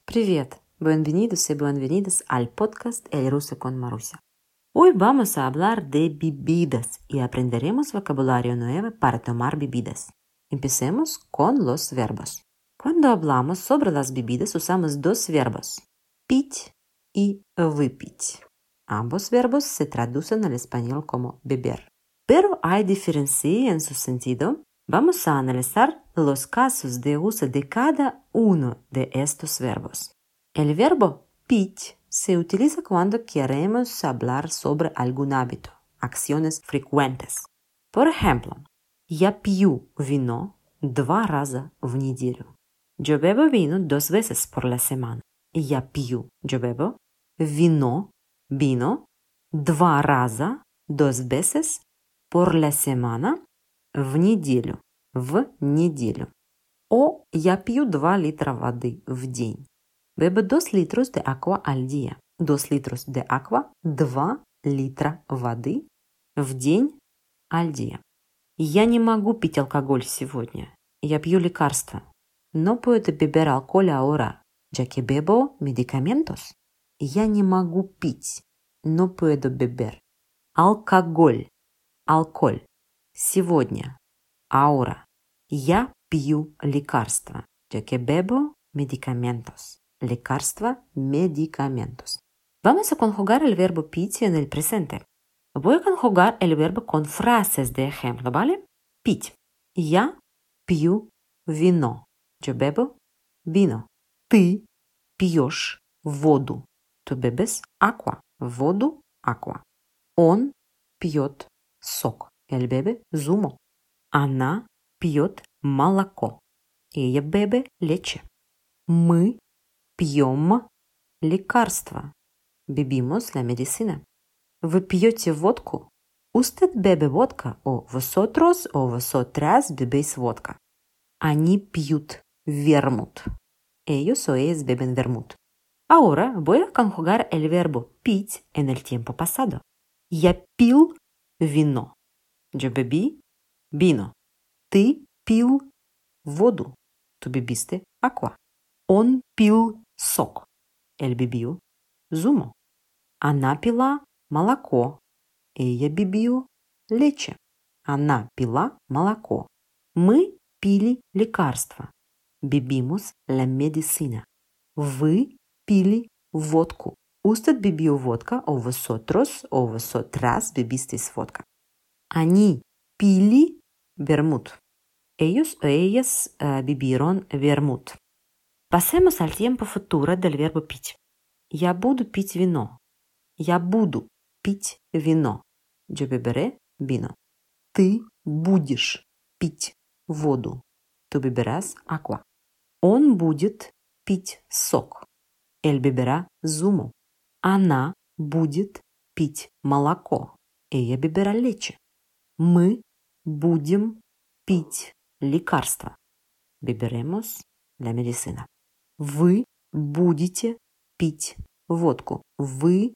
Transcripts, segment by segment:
Привет, bienvenidos y bienvenidas al podcast El Ruso con Marusia. Hoy vamos a hablar de bebidas y aprenderemos vocabulario nuevo para tomar bebidas. Empecemos con los verbos. Cuando hablamos sobre las bebidas usamos dos verbos, пить y выпить. Ambos verbos se traducen al español como beber. Pero hay diferencia en su sentido. Vamos a analizar los casos de uso de cada uno de estos verbos. El verbo пить se utiliza cuando queremos hablar sobre algún hábito, acciones frecuentes. Por ejemplo, я пью вино 2 раза в неделю. Yo bebo vino 2 veces por la semana. Я пью, yo bebo, vino 2 раза, 2 veces por la semana в неделю. O я пью 2 litros воды в день. Bebo 2 litros de agua al día. 2 litros de agua, 2 litros воды в день al día. Я не могу пить алкоголь сегодня. Я пью лекарства. No puedo beber alcohol ahora, ya que bebo medicamentos. Я не могу пить. No puedo beber. Алкоголь. Сегодня. Ahora. Я пью лекарства, ya que bebo medicamentos. Лекарства, medicamentos. Vamos a conjugar el verbo пить en el presente. Voy a conjugar el verbo con frases de ejemplo, ¿vale? Пить. Я пью вино. Yo bebo vino. Ты пьешь воду. Tú bebes agua. Воду, agua. Он пьет сок. Él bebe zumo. Она пьет молоко. Ella bebe leche. Мы пьем лекарства. Bebimos la medicina. Вы пьете водку? Usted bebe vodka o vosotras bebéis vodka. Они пьют вермут. Ellos o ellas beben vermut. Ahora voy a conjugar el verbo пить en el tiempo pasado. Я пил вино. Yo bebí vino. Ты пил воду. Tú bebiste agua. Он пил сок. Él bebió zumo. Она пила молоко. Ella bebió leche. Она пила молоко. Мы пили лекарства. Bebimos la medicina. Вы пили водку. Usted bebió vodka o vosotras bebisteis vodka. Они пили вермут. Ellos o ellas bebieron vermut. Pasemos al tiempo futuro del verbo пить. Я буду пить вино. Я буду пить вино. Yo beberé vino. Ты будешь пить воду. Tú beberás agua. Он будет пить сок. Él beberá zumo. Она будет пить молоко. Ella beberá leche. Мы будем пить лекарства. Beberemos la medicina. Вы будете пить водку. Вы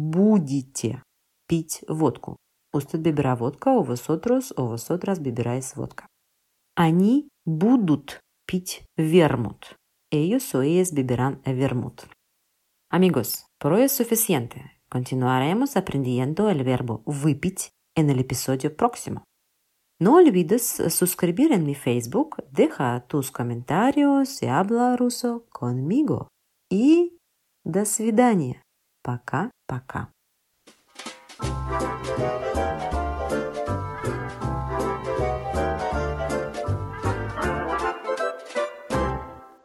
будете пить водку. Usted beberá vodka o vosotras beberáis vodka. Они будут пить вермут. Ellos o ellas beberán vermut. Amigos, por hoy es suficiente. Continuaremos aprendiendo el verbo выпить en el episodio próximo. No olvides suscribir en mi Facebook, deja tus comentarios y habla ruso conmigo. Y до свидания. Пока-пока.